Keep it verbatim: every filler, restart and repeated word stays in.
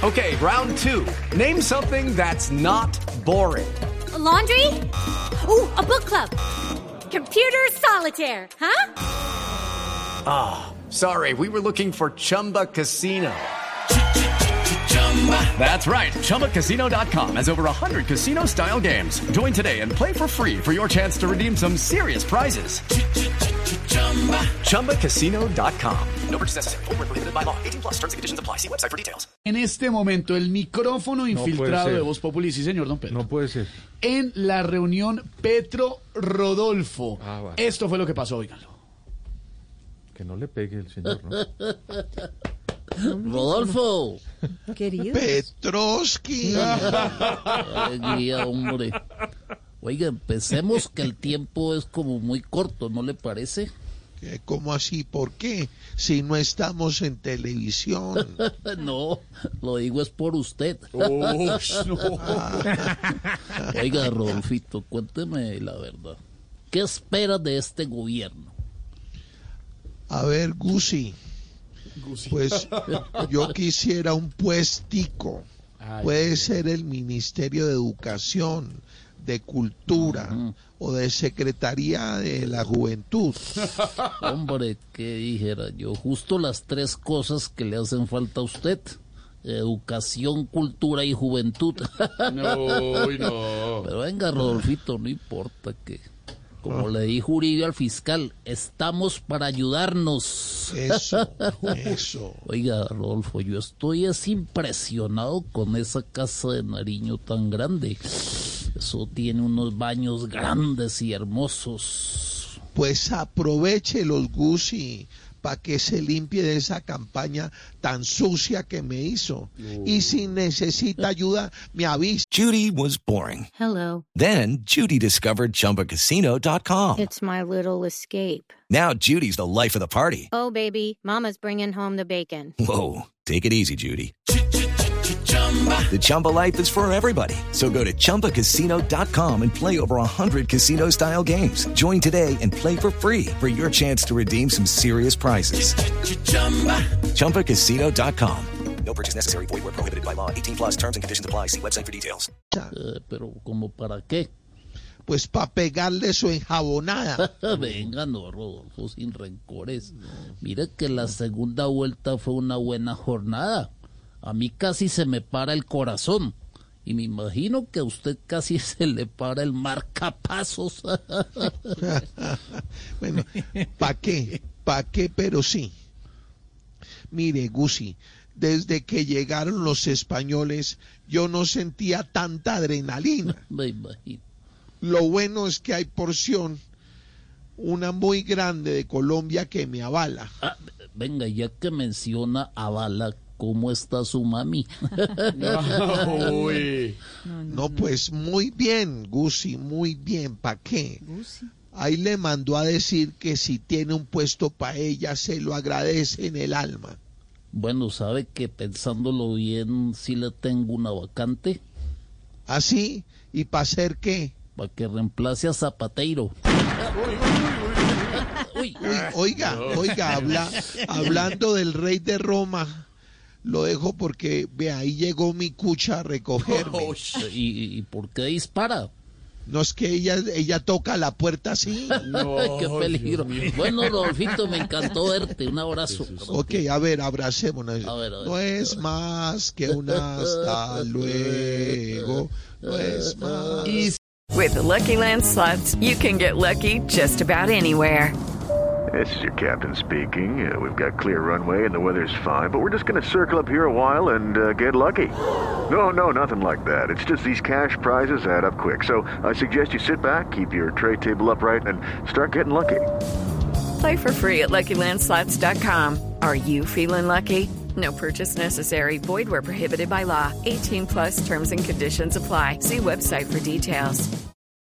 Okay, round two. Name something that's not boring. A laundry? Ooh, a book club. Computer solitaire, huh? Ah, oh, sorry, we were looking for Chumba Casino. That's right, Chumba Casino dot com has over one hundred casino-style games. Join today and play for free for your chance to redeem some serious prizes. Chumba Casino dot com. No purchase necessary. Void where prohibited by law. eighteen plus terms and conditions apply. See website for details. En este momento, el micrófono infiltrado de Voz Populi, sí señor, don Pedro. No puede ser. En la reunión Petro-Rodolfo. Ah, bueno. Esto fue lo que pasó, óiganlo. Que no le pegue el señor, ¿no? Rodolfo. Querido. Petrovsky. Alegría, hombre. Oiga, empecemos que el tiempo es como muy corto, ¿no le parece? ¿Cómo así? ¿Por qué? Si no estamos en televisión. No, lo digo es por usted. Oh, no. Oiga, Rodolfito, cuénteme la verdad. ¿Qué espera de este gobierno? A ver, Gusi. Pues yo quisiera un puestico. Ay, Puede Dios. ser el Ministerio de Educación, de Cultura Uh-huh. o de Secretaría de la Juventud. Hombre, ¿qué dijera yo? Justo las tres cosas que le hacen falta a usted. Educación, cultura y juventud. No, uy, no. Pero venga, Rodolfito, no importa que... Como le dijo Uribe al fiscal, estamos para ayudarnos. Eso, eso. Oiga, Rodolfo, yo estoy es impresionado con esa casa de Nariño tan grande. Eso tiene unos baños grandes y hermosos. Pues aproveche los Gusi para que se limpie de esa campaña tan sucia que me hizo. Y si necesita ayuda, me avisa. Judy was boring. Hello. Then Judy discovered Chumba Casino dot com. It's my little escape. Now Judy's the life of the party. Oh, baby, mama's bringing home the bacon. Whoa, take it easy, Judy. The Chumba life is for everybody. So go to Chumba Casino dot com and play over one hundred casino-style games. Join today and play for free for your chance to redeem some serious prizes. Chumba Casino dot com. No purchase necessary. Void where prohibited by law. eighteen plus terms and conditions apply. See website for details. Eh, pero, ¿como para qué? Pues para pegarle su enjabonada. Venga, no, Rodolfo, sin rencores. Mire que la segunda vuelta fue una buena jornada. A mí casi se me para el corazón. Y me imagino que a usted casi se le para el marcapasos. Bueno, ¿para qué? ¿Para qué? Pero sí. Mire, Gusi, desde que llegaron los españoles, yo no sentía tanta adrenalina. Me imagino. Lo bueno es que hay porción, una muy grande de Colombia que me avala. Ah, venga, ya que menciona a Bala, ¿cómo está su mami? No, uy. No, pues muy bien, Gusi, muy bien. ¿Para qué? Ahí le mandó a decir que si tiene un puesto para ella, se lo agradece en el alma. Bueno, sabe que pensándolo bien, sí le tengo una vacante ¿Así? ¿Y para hacer qué? para que reemplace a Zapateiro. Uy, Uy, oiga, oiga, habla, hablando del rey de Roma, lo dejo porque, ve, ahí llegó mi cucha a recogerme. ¿y, y por qué dispara? No es que ella, ella toca la puerta así. No, ¡Qué peligro! Bueno, Rodolfito, me encantó verte. Un abrazo. Ok, a ver, abracémonos. A ver, a ver. No es más que un hasta luego. No es más. With the Lucky Land Slots, you can get lucky just about anywhere. This is your captain speaking. Uh, we've got clear runway and the weather's fine, but we're just going to circle up here a while and uh, get lucky. No, no, nothing like that. It's just these cash prizes add up quick. So I suggest you sit back, keep your tray table upright, and start getting lucky. Play for free at Lucky Land Slots dot com. Are you feeling lucky? No purchase necessary. Void where prohibited by law. eighteen plus terms and conditions apply. See website for details.